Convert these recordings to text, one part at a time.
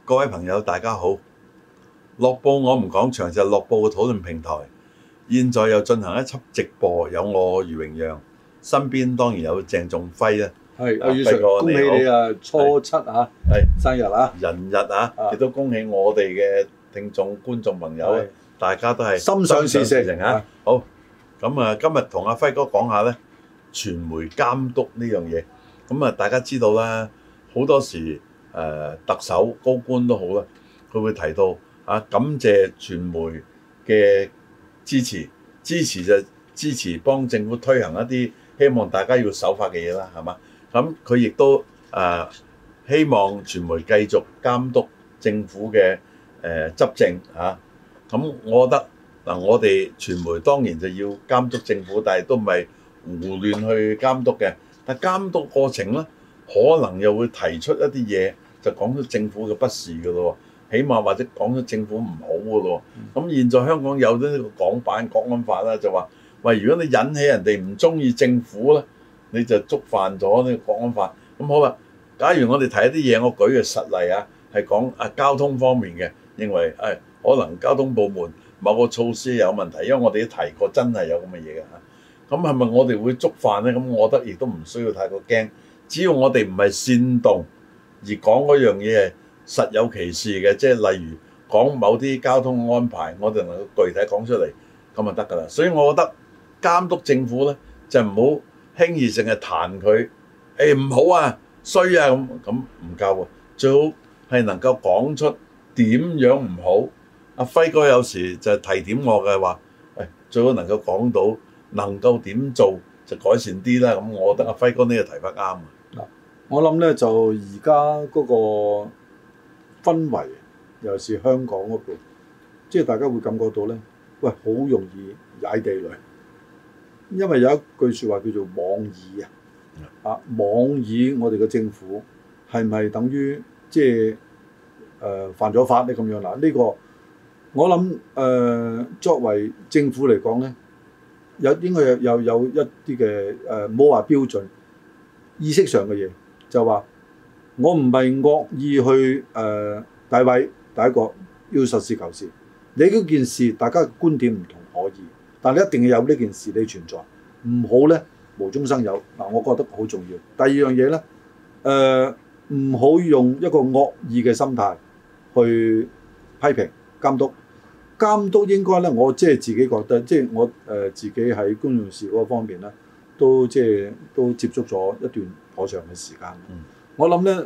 各位朋友，大家好！樂報我們講場就係樂報嘅討論平台，現在又進行一輯直播，有我余榮讓，身邊當然有鄭仲輝啦。 係阿余 Sir，恭喜你啊！初七啊，係生日啊， 人日啊，亦都恭喜我哋嘅聽眾觀眾朋友，大家都係心想事成啊！ 好，咁啊，今日同阿輝哥講下咧，傳媒監督呢樣嘢。咁啊，大家知道啦，好多時特首高官都好啦，佢會提到感謝傳媒嘅支持就支持幫政府推行一啲希望大家要守法嘅嘢啦，係嘛？咁佢亦都希望傳媒繼續監督政府嘅執政嚇。咁我覺得嗱，我哋傳媒當然就要監督政府，但係都唔係胡亂去監督嘅。但監督過程咧，可能又會提出一啲嘢，就講出政府嘅不是嘅咯。起碼或者講出政府唔好嘅咯。咁現在香港有咗呢個港版國安法啦，就話喂，如果你引起人哋唔中意政府咧，你就觸犯咗呢個國安法。咁好啦，假如我哋提一啲嘢，我舉嘅實例啊，係講交通方面嘅，認為可能交通部門某個措施有問題，因為我哋都提過真係有咁嘅嘢嘅嚇。咁係咪我哋會觸犯咧？咁我覺得亦都唔需要太過驚，只要我哋唔係煽動而講嗰樣嘢係實有其事嘅，即係例如講某啲交通安排，我哋能夠具體講出嚟，咁就得㗎啦。所以我覺得監督政府咧，就唔好輕易淨係彈佢，唔好啊，衰啊咁唔夠喎，最好係能夠講出點樣唔好。阿輝哥有時就提點我嘅話，最好能夠講到能夠點做就改善啲啦。咁我覺得阿輝哥呢個提法啱啊。 我諗咧就而家嗰個氛圍，尤其是香港嗰度，即係大家會感覺到咧，喂，好容易踩地雷，因為有一句説話叫做妄議啊，妄議我哋嘅政府係咪等於即係犯咗法咧咁樣嗱？呢個我諗作為政府嚟講咧，應該有一啲嘅冇話標準意識上嘅嘢，就話我唔係惡意去詆毀，第一個要實事求是。你嗰件事大家嘅觀點唔同可以，但你一定要有呢件事你存在，唔好咧無中生有嗱，我覺得好重要。第二樣嘢咧，唔好用一個惡意嘅心態去批評監督。監督應該咧，我即係自己覺得，即係我自己喺公用事嗰方面咧，都接觸咗一段頗長嘅時間。我諗咧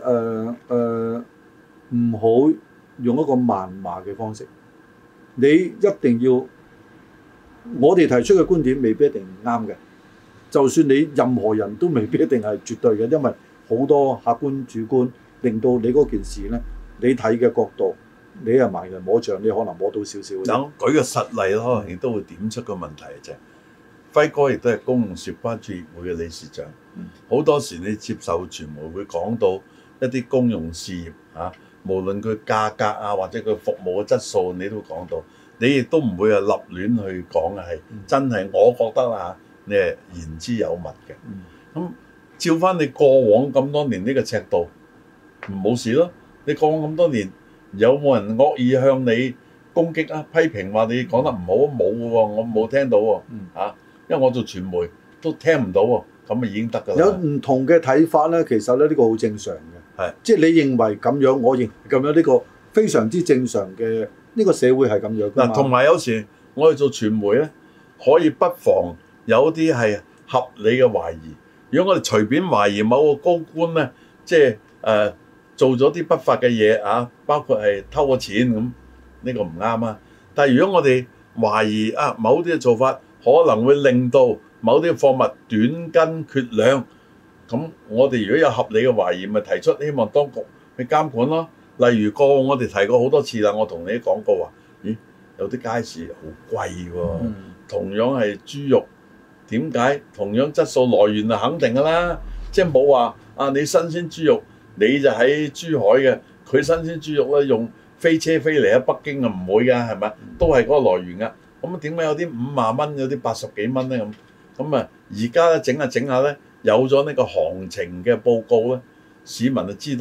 唔好用一個謾罵嘅方式，你一定要我哋提出嘅觀點未必一定啱嘅，就算你任何人都未必一定係絕對嘅，因為好多客觀主觀令到你嗰件事咧，你睇嘅角度。你係盲人摸象，你可能摸到少少。 等舉個實例咯，亦都會點出個問題啫。輝哥亦都係公共事業關注協會嘅理事長，好多時你接受傳媒會講到一啲公用事業無論佢價格或者佢服務嘅質素，你都講到，你亦都唔會立亂去講嘅，係真係我覺得啦，你係言之有物嘅。咁照翻你過往咁多年呢個尺度，冇事咯。你過往咁多年。有冇人惡意向你攻擊批評話你講得唔好？冇嘅喎，我冇聽到喎因為我做傳媒都聽唔到喎，咁咪已經得㗎啦。 有唔同嘅睇法咧，其實咧呢個好正常嘅，即係你認為咁樣，我認為咁樣，呢個非常之正常嘅，呢個社會係咁樣㗎嘛。 同埋有時我哋做傳媒咧，可以不妨有啲係合理嘅懷疑。如果我哋隨便懷疑某個高官咧，即係做咗啲不法嘅嘢包括係偷咗錢咁，呢個唔啱啊！但係如果我哋懷疑某啲嘅做法可能會令到某啲貨物短斤缺兩，咁我哋如果有合理嘅懷疑，咪提出希望當局去監管咯。例如過往我哋提過好多次啦，我同你講過話，有啲街市好貴喎，同樣係豬肉，點解同樣質素來源係肯定㗎啦？即係冇話你新鮮豬肉。你就喺珠海嘅，佢新鮮豬肉咧用飛車飛嚟喺北京啊，唔會㗎，係咪？都係嗰個來源㗎。咁點解有啲50蚊，有啲80幾蚊咧？咁而家咧整下咧，有咗呢個行情嘅報告咧，市民就知道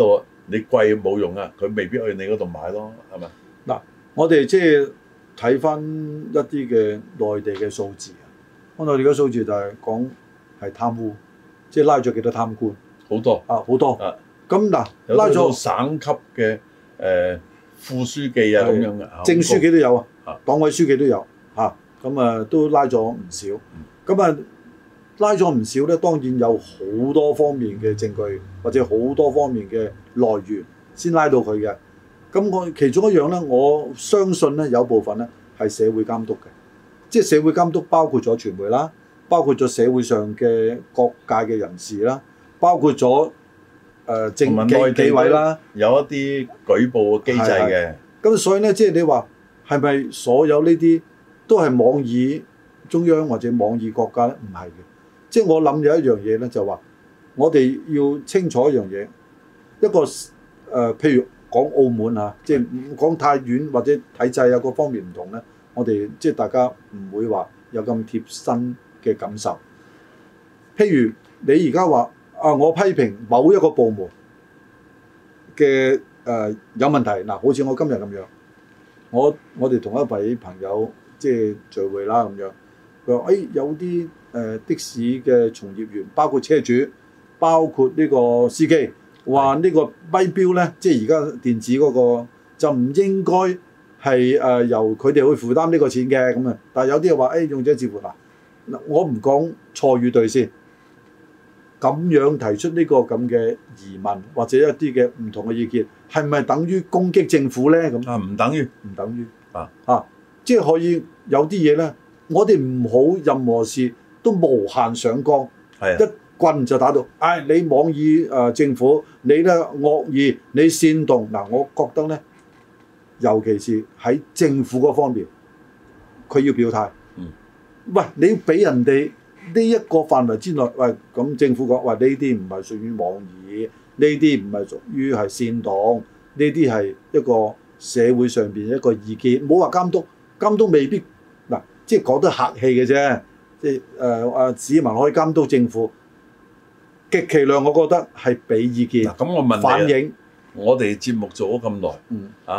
你貴冇用啊，佢未必去你嗰度買咯，係咪？ 嗱，我哋即係睇翻一啲嘅內地嘅數字啊，內地嘅數字就係講係貪污，即係拉咗幾多貪官， 好多啊，好多。 啊， 咁嗱， 有拉咗到省級嘅副書記啊咁樣嘅， 正書記都有啊， 啊黨委書記都有嚇，咁啊都拉咗唔少。咁啊拉咗唔少咧，當然有好多方面嘅證據或者好多方面嘅來源先拉到佢嘅。咁我其中一樣咧，我相信咧有部分咧係社會監督嘅，即係社會監督包括咗傳媒啦，包括咗社會上嘅各界嘅人士啦，包括咗政紀委啦， 有一啲舉報嘅機制嘅。 咁所以咧，即係你話係咪所有呢啲都係妄議中央或者妄議國家咧？唔係嘅，即係我諗有一樣嘢咧，就話我哋要清楚一樣嘢，一個譬如講澳門嚇，即係唔講太遠或者體制啊各方面唔同咧，我哋即係大家唔會話有咁貼身嘅感受。譬如你而家話我批評某一個部門嘅有問題，嗱，好似我今日咁樣，我哋同一位朋友即係聚會啦咁樣，佢話有啲的士嘅從業員，包括車主，包括呢個司機，話呢個咪標咧，即係而家電子嗰個就唔應該係由佢哋去負擔呢個錢嘅咁啊，但係有啲人話用者自負嗱，我唔講錯與對先。咁樣提出呢個咁嘅疑問或者一啲嘅唔同嘅意見，係咪等於攻擊政府咧？咁唔等於， 唔等於即係可以有啲嘢咧，我哋唔好任何事都無限上綱，一棍就打到。你妄議政府，你咧惡意，你煽動嗱，我覺得咧，尤其是喺政府嗰方面，佢要表態。喂，你俾人哋呢一個範圍之內，喂，咁政府講話呢啲唔係屬於妄議，呢啲唔係屬於係煽動，呢啲係一個社會上邊一個意見，冇話監督，監督未必嗱，即係講得客氣嘅啫，即係市民可以監督政府，極其量我覺得係俾意見。 咁我問你反映， 我哋節目做咗咁耐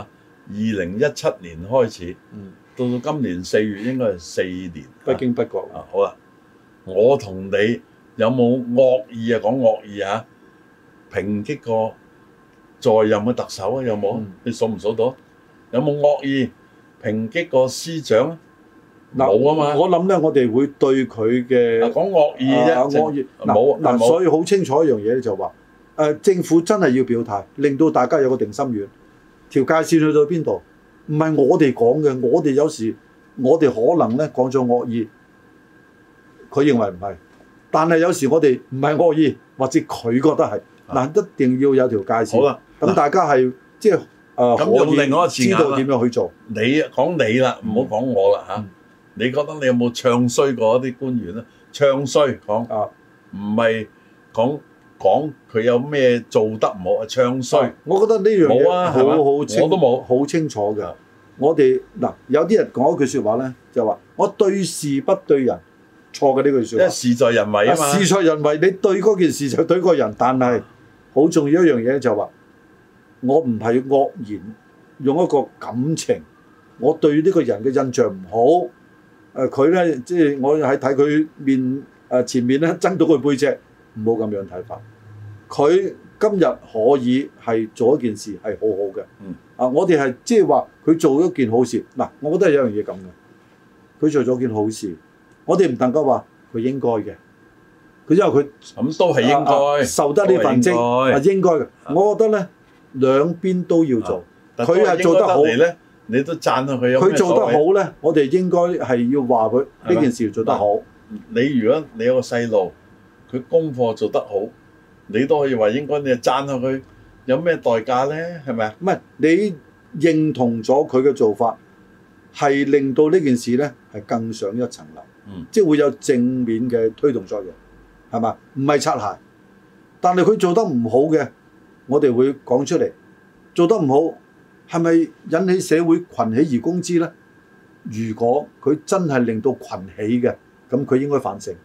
，2017年開始，到今年4月應該係4年， 不經不覺。 好啦。我同你有冇惡意啊？講惡意啊！抨擊過在任嘅特首啊？有冇？你數唔數到？有冇惡意抨擊過司長啊？冇啊嘛！ 我諗咧，我哋會對佢嘅講惡意啫， 惡意冇嗱，所以好清楚一樣嘢咧，就話政府真係要表態，令到大家有個定心丸。條界線去到邊度？唔係我哋講嘅，我哋有時我哋可能咧講咗惡意。佢認為唔係，但係有時我哋唔係惡意，或者佢覺得係嗱，一定要有條界線。 好啦， 咁大家係即係用另外一個字眼知道點樣去做。 你講你啦，唔好講我啦嚇。你覺得你有冇唱衰過一啲官員咧？唱衰講唔係講佢有咩做得唔好啊？唱衰， 我覺得呢樣嘢好清， 我都冇好清楚嘅。我哋嗱有啲人講一句説話咧，就話我對事不對人。錯嘅呢句説話， 因為事在人為啊嘛。 事在人為，你對嗰件事就對個人，但係好重要一樣嘢就話，我唔係惡言，用一個感情，我對呢個人嘅印象唔好。佢咧即係我喺睇佢面前面咧，憎到佢背脊，唔好咁樣睇法。佢今日可以係做一件事係好好嘅。我哋係即係話佢做一件好事。嗱，我覺得係有樣嘢咁嘅，佢做咗件好事。我哋唔能夠話佢應該嘅，佢因為佢咁都係應該受得呢份職係應該嘅。我覺得咧兩邊都要做，佢係做得好咧，你都讚下佢有咩所謂？ 佢做得好咧，我哋應該係要話佢呢件事做得好。 你如果你有個細路，佢功課做得好，你都可以話應該，你就讚下佢有咩代價咧？係咪啊？ 唔係你認同咗佢嘅做法，係令到呢件事咧係更上一層樓。即係會有正面嘅推動作用，係嘛？唔係擦鞋，但係佢做得唔好嘅，我哋會講出嚟。做得唔好係咪引起社會群起而攻之咧？如果佢真係令到群起嘅，咁佢應該反省。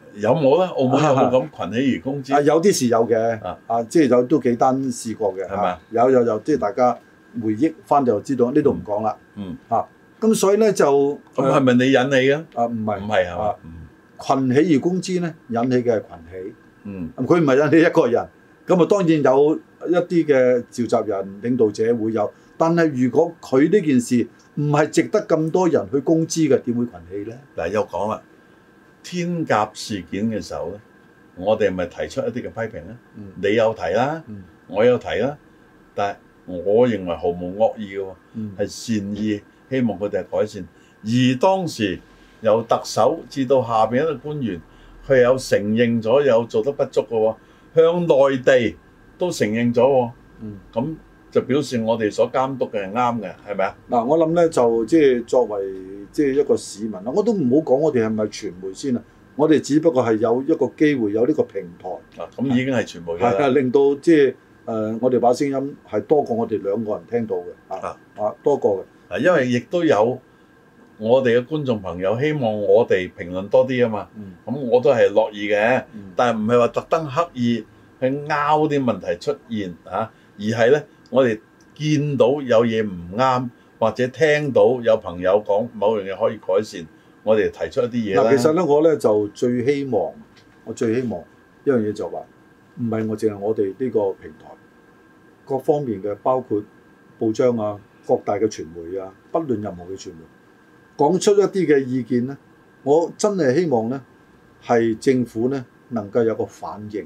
有冇咧？澳門有冇咁群起而攻之？ 有啲時有嘅，即係有都幾單試過嘅，係咪？有，即係大家回憶翻就知道，呢度唔講啦。咁所以咧就咁係咪你引起嘅？ 唔係係嘛？ 群起而攻之咧，引起嘅係群起。佢唔係引起一個人。咁當然有一啲嘅召集人、領導者會有，但係如果佢呢件事唔係值得咁多人去攻之嘅，點會群起咧？嗱， 又講啦，天鴿事件嘅時候咧，我哋咪提出一啲嘅批評咧。你有提啦，我有提啦，但係我認為毫無惡意嘅喎，係善意，希望佢哋改善。而當時由特首至到下邊一個官員，佢有承認咗有做得不足嘅喎。向內地都承認咗喎，咁就表示我哋所監督嘅係啱嘅，係咪啊？ 嗱，我諗咧就即係作為即係一個市民啦，我都唔好講我哋係咪傳媒先啊，我哋只不過係有一個機會，有呢個平台， 咁已經係傳媒㗎啦， 令到即係我哋把聲音係多過我哋兩個人聽到嘅，多過嘅， 因為亦都有我哋嘅觀眾朋友希望我哋評論多啲啊嘛，咁我都係樂意嘅，但係唔係話特登刻意去拗啲問題出現而係咧我哋見到有嘢唔啱，或者聽到有朋友講某樣嘢可以改善，我哋提出一啲嘢啦。 其實咧我咧就最希望一樣嘢就話，唔係我淨係我哋呢個平台，各方面嘅包括報章啊、各大嘅傳媒啊，不論任何嘅傳媒。講出一啲嘅意見咧，我真係希望咧係政府咧能夠有個反應。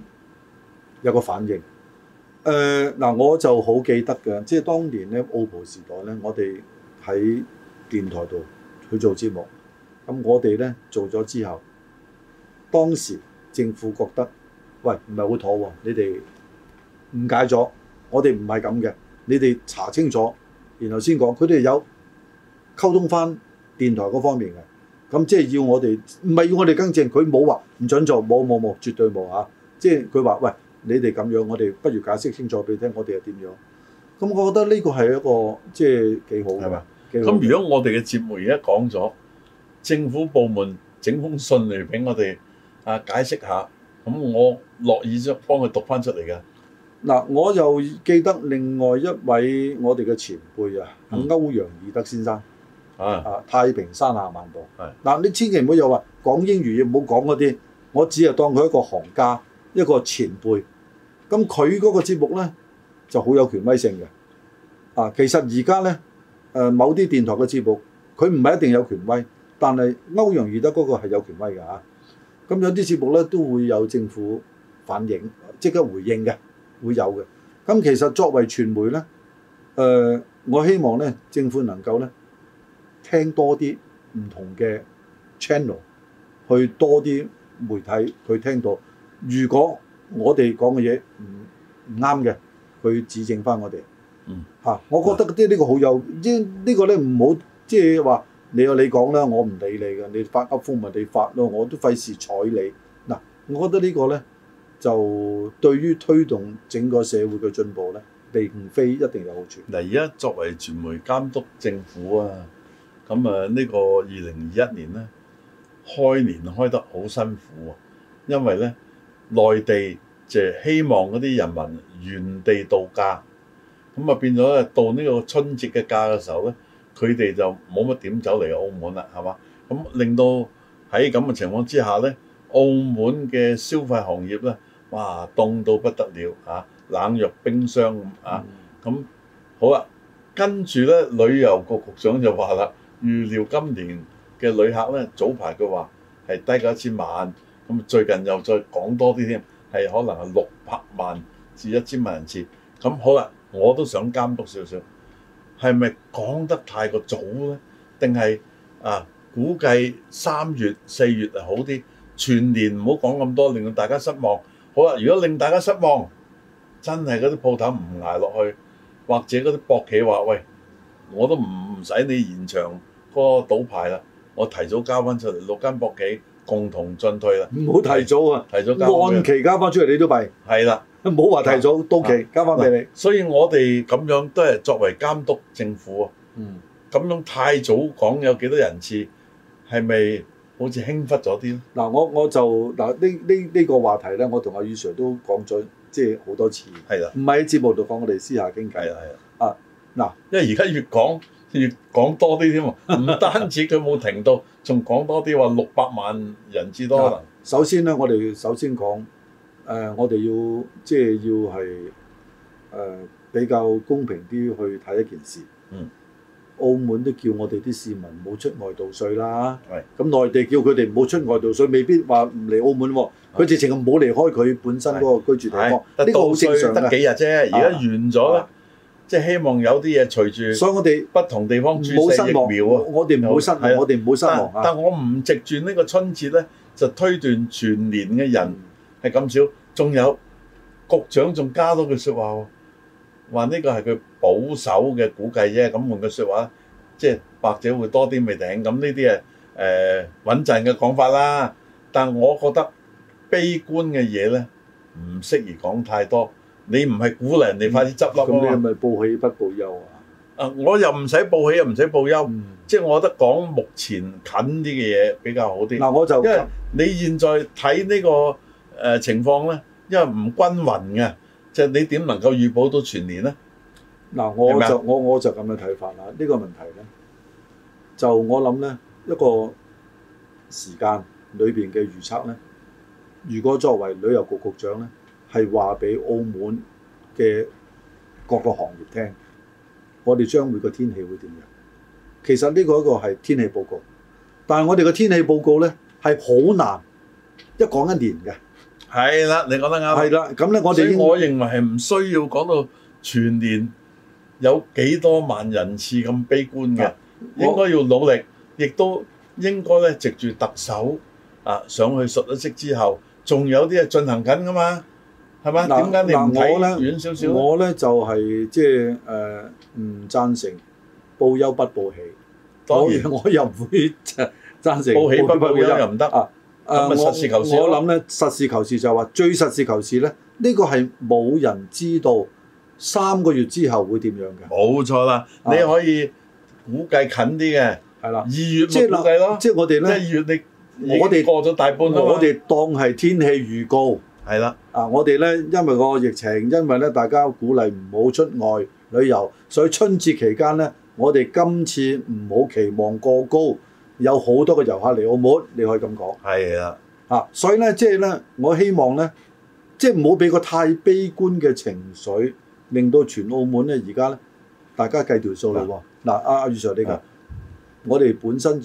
我就好記得嘅，即係當年咧澳葡時代咧，我哋喺電台度去做節目，咁我哋咧做咗之後，當時政府覺得，喂唔係好妥喎，你哋誤解咗，我哋唔係咁嘅，你哋查清楚，然後先講，佢哋有溝通翻。電台嗰方面嘅，咁即係要我哋，唔係要我哋更正，佢冇話唔準做，冇，絕對冇嚇。即係佢話，喂，你哋咁樣，我哋不如解釋清楚俾你聽，我哋係點樣？咁我覺得呢個係一個即係幾好嘅，係嘛？ 咁如果我哋嘅節目而家講咗，政府部門整封信嚟俾我哋解釋下，咁我樂意將幫佢讀翻出嚟嘅。 嗱，我又記得另外一位我哋嘅前輩歐陽義德先生。太平山下漫步。嗱，你千祈唔好又話講英語，唔好講嗰啲。我只係當佢一個行家，一個前輩。咁佢嗰個節目咧就好有權威性嘅。其實而家咧某啲電台嘅節目，佢唔係一定有權威，但係歐陽義德嗰個係有權威嘅嚇。咁有啲節目咧都會有政府反映，即刻回應嘅，會有嘅。咁其實作為傳媒咧，我希望咧政府能夠咧。聽多啲唔同嘅 channel， 去多啲媒體去聽到。如果我哋講嘅嘢唔啱嘅，去指正翻我哋。我覺得呢個好有，呢個咧唔好即係話你有你講啦，我唔理你嘅，你發噏風咪你發咯，我都費事睬你。我覺得呢個咧就對於推動整個社會嘅進步咧，並非一定有好處。 而家作為傳媒監督政府啊。咁呢個2021年咧，開年開得好辛苦喎，因為咧內地就希望嗰啲人民原地度假，咁變咗咧到呢個春節嘅假嘅時候咧，佢哋就冇乜點走嚟澳門啦，係嘛？咁令到喺咁嘅情況之下咧，澳門嘅消費行業咧，哇凍到不得了冷若冰霜咁好啦，跟住咧旅遊局局長就話啦。預料今年嘅旅客咧，早排佢話係低過1000萬，咁最近又再講多啲添，係可能係600萬至1000萬人次。咁好啦，我都想監督少少，係咪講得太過早咧？定係估計3月4月係好啲，全年唔好講咁多，令到大家失望。好啦，如果令大家失望，真係嗰啲鋪頭唔捱落去，或者嗰啲博企話喂，我都唔使你延長嗰個賭牌啦，我提早交翻出嚟，6間博企共同進退啦。 唔好提早啊！ 提早交按期交翻出嚟，你都弊。 係啦， 唔好話提早到期交翻俾你。 所以我哋咁樣都係作為監督政府啊。咁樣太早講有幾多人次，係咪好似輕忽咗啲。 嗱，我就嗱呢個話題咧，我同阿宇 Sir 都講咗即係好多次。 係啦， 唔係喺節目度講，我哋私下傾偈。 係啦。 啊，嗱， 因為而家越講多啲添喎，唔單止佢冇停到，仲講多啲話600萬人至多可能。 首先咧，我哋首先講我哋要即係要係比較公平啲去睇一件事。澳門都叫我哋啲市民唔好出外盜稅啦。咁內地叫佢哋唔好出外盜稅，未必話唔嚟澳門喎。佢直情唔好離開佢本身嗰個居住地方。呢個好正常嘅。得幾日啫，而家完咗咧，即係希望有啲嘢隨住。所以我哋不同地方注射疫苗啊。我哋唔好失望，我哋唔好失望。但我唔藉住呢個春節咧，就推斷全年嘅人係咁少。仲有局長仲加多句説話喎。話呢個係佢保守嘅估計啫，咁換句説話，即係或者會多啲未定，咁呢啲係穩陣嘅講法啦。但我覺得悲觀嘅嘢咧，唔適宜講太多。你唔係鼓勵人哋快啲執笠啊嘛？咁你係咪報喜不報憂啊？我又唔使報喜又唔使報憂，即係我覺得講目前近啲嘅嘢比較好啲。嗱，我就因為你現在睇呢個情況咧，因為唔均勻嘅。即係你點能夠預保到全年咧？嗱，我就咁嘅睇法啦。呢個問題咧，就我諗咧一個時間裏邊嘅預測咧，如果作為旅遊局局長咧，係話俾澳門嘅各個行業聽，我哋將會個天氣會點樣？其實呢個一個係天氣報告，但係我哋嘅天氣報告咧係好難一講一年嘅。係啦，你講得啱。係啦，咁咧我認為係唔需要講到全年有幾多萬人次咁悲觀嘅，應該要努力，亦都應該咧藉住特首上去述一職之後，仲有啲係進行緊噶嘛，係嘛？點解你唔睇遠少少？我咧就係即係唔贊成報憂不報喜，當然我又唔會贊成報喜不報憂又唔得啊。實事求是，我諗咧，實事求是就係話最實事求是咧，呢個係冇人知道3個月之後會點樣嘅。冇錯啦，你可以估計近啲嘅，係啦，2月咪估計咯。即係我哋咧，即係2月我哋過咗大半啦嘛。我哋當係天氣預告，係啦。我哋咧因為個疫情，因為咧大家鼓勵唔好出外旅遊，所以春節期間咧，我哋今次唔好期望過高。有好多嘅遊客嚟澳門，你可以咁講。係啊，所以咧，即係咧，我希望咧，即係唔好俾個太悲觀嘅情緒，令到全澳門咧，而家咧，大家計條數啦喎。嗱，阿余 Sir 呢個，我哋本身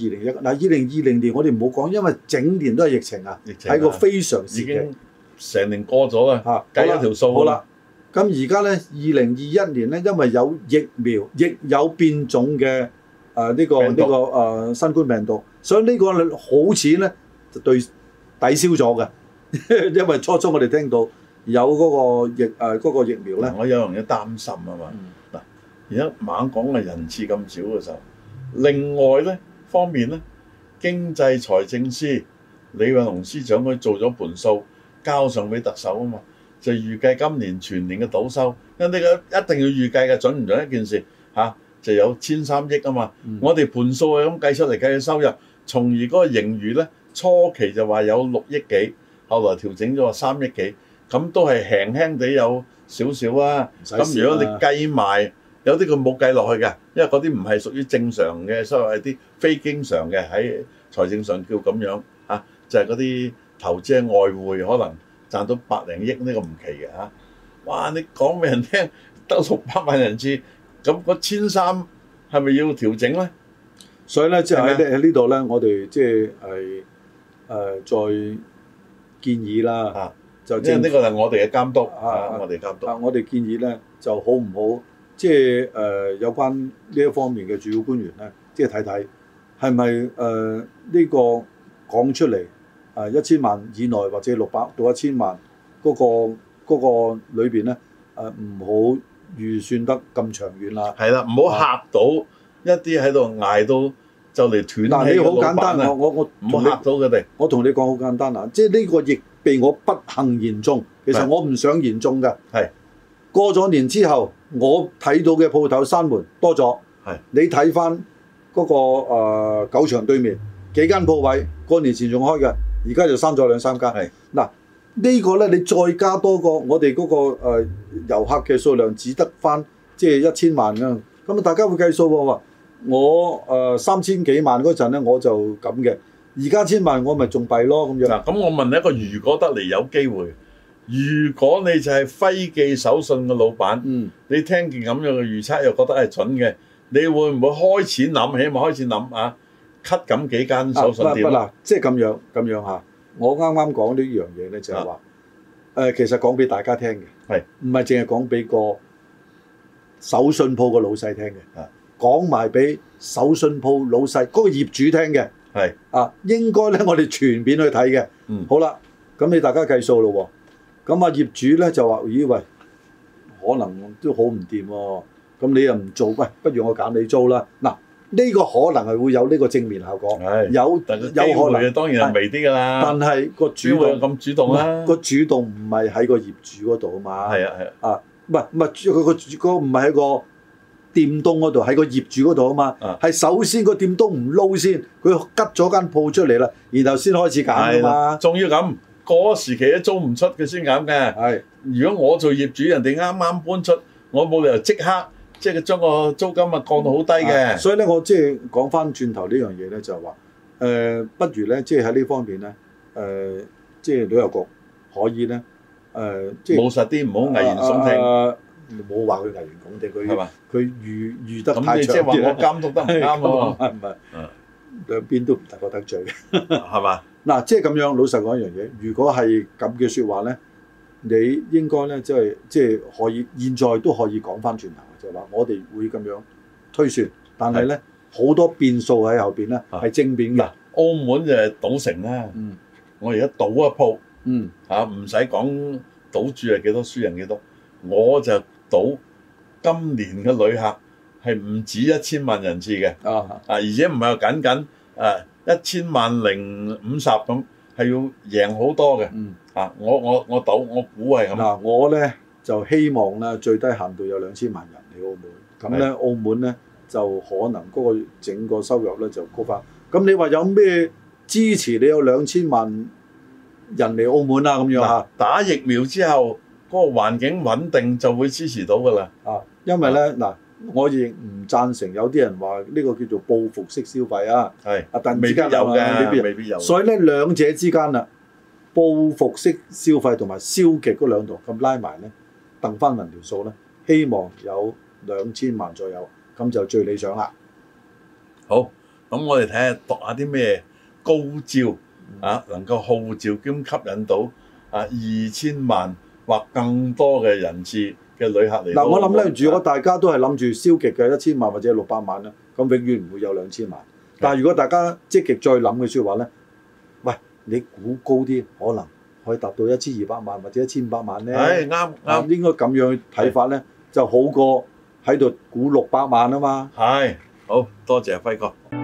2020年我哋唔好講，因為整年都係疫情啊，係個非常時期，已經成年過咗啦，計咗條數。好啦，咁而家咧2021年咧，因為有疫苗，亦有變種嘅。呢個新冠病毒，所以呢個好似咧就抵消咗嘅，因為初初我哋聽到有嗰個疫苗咧，我有樣嘢擔心啊嘛。嗱，而家猛講嘅人次咁少嘅時候，另外咧方面咧，經濟財政司李運龍司長佢做咗盤數，交上俾特首啊嘛，就預計今年全年嘅賭收，因為呢個一定要預計嘅，準唔準一件事嚇？就有1,300億啊嘛，我哋盤數係咁計出嚟計嘅收入，從而嗰個盈餘咧初期就話有6億幾，後來調整咗話3億幾，咁都係輕輕地有少少啊。咁如果你計埋，有啲佢冇計落去嘅，因為嗰啲唔係屬於正常嘅收入，係啲非經常嘅喺財政上叫咁樣啊，就係嗰啲投資嘅外匯可能賺到100零億呢個唔奇嘅嚇。哇！你講俾人聽得600萬人次。咁個1,300係咪要調整咧？所以咧，即係喺呢度咧，我哋即係再建議啦。就因為呢個係我哋嘅監督我哋監督。我哋建議咧，就好唔好？即係有關呢一方面嘅主要官員咧，即係睇睇係咪呢個講出嚟1,000萬以內或者600到1,000萬嗰個裏邊咧唔好預算得咁長遠啦，係啦，唔好嚇到一啲喺度捱到就嚟斷氣嘅老闆啊！嗱，你好簡單，我唔好嚇到佢哋。我同你講好簡單啊，即係呢個疫被我不幸言中，其實我唔想言中嘅。係過咗年之後，我睇到嘅鋪頭閂門多咗。係你睇翻嗰個狗場對面幾間鋪位，過年前仲開嘅，而家就閂咗2、3間。 係嗱，呢個咧你再加多個，我哋嗰個遊客嘅數量只得翻即係1000萬㗎。咁大家會計數喎，我3000幾萬嗰陣咧我就咁嘅，而家1000萬我咪仲弊咯咁樣。 嗱，咁我問你一個，如果得嚟有機會，如果你就係輝記手信嘅老闆，你聽見咁樣嘅預測又覺得係蠢嘅，你會唔會開始諗？起碼開始諗啊，cut 咁幾間手信店？ 嗱，即係咁樣嚇。我啱啱講呢樣嘢咧，就係話其實講俾大家聽嘅， 係唔係淨係講俾個手信鋪個老細聽嘅？講埋俾手信鋪老細嗰個業主聽嘅。係應該咧，我哋全面去睇嘅。好啦，咁你大家計數咯喎。咁啊業主咧就話：咦喂，可能都好唔掂喎。咁你又唔做，喂，不如我減你租啦。嗱，呢個可能係會有呢個正面效果。有可能，當然係微啲㗎啦。但係個主動咁主動啦。個主動唔係喺個業主嗰度啊嘛。係啊。唔係佢個唔係喺個店東嗰度，喺個業主嗰度啊嘛。係首先個店東唔撈先，佢吉咗間鋪出嚟啦，然後先開始減啊嘛。仲要咁。嗰時期都租唔出嘅先減嘅。係，如果我做業主，人哋啱啱搬出，我冇理由即刻即係將個租金啊降到好低嘅。所以咧，我即係講翻轉頭呢樣嘢咧，就係話不如咧，即係喺呢方面咧，即係旅遊局可以咧，即係務實啲，唔好危言聳聽。冇話佢危言聳聽，佢預得太長啲。咁你即係話我監督得唔啱喎？唔係，兩邊都唔大覺得罪嘅，係嘛？嗱，即係咁樣，老實講一樣嘢，如果係咁嘅説話咧，你應該咧，即係可以，現在都可以講翻轉頭，就係話我哋會咁樣推算，但係咧好多變數喺後邊咧係正面嘅。澳門就係賭城啦，我而家賭一鋪，唔使講賭注係幾多，輸人幾多，我就賭今年嘅旅客係唔止1000萬人次嘅，而且唔係話僅僅1000萬050咁，係要贏好多嘅。我賭，我估係咁。嗱，我咧就希望咧最低限度有2000萬人嚟澳門，咁咧澳門咧就可能嗰個整個收入咧就高翻。咁你話有咩支持你有2000萬人嚟澳門啊？咁樣嚇，打疫苗之後嗰個環境穩定就會支持到㗎啦。因為咧嗱。我亦唔贊成有啲人話呢個叫做報復式消費啊，但未必有嘅，未必有。所以咧兩者之間啦，報復式消費同埋消極嗰兩度咁拉埋咧，掟翻勻條數咧，希望有2000萬左右，咁就最理想啦。好，咁我哋睇下讀下啲咩高招能夠號召兼吸引到2000萬或更多嘅人次嘅旅客嚟。嗱，我諗咧，如果大家都係諗住消極嘅1000萬或者600萬咧，咁永遠唔會有2000萬。但係如果大家積極再諗嘅説話咧，喂，你估高啲，可能可以達到1200萬或者1500萬咧。係啱，應該咁樣睇法咧，就好過喺度估600萬啊嘛。係，好多謝輝哥。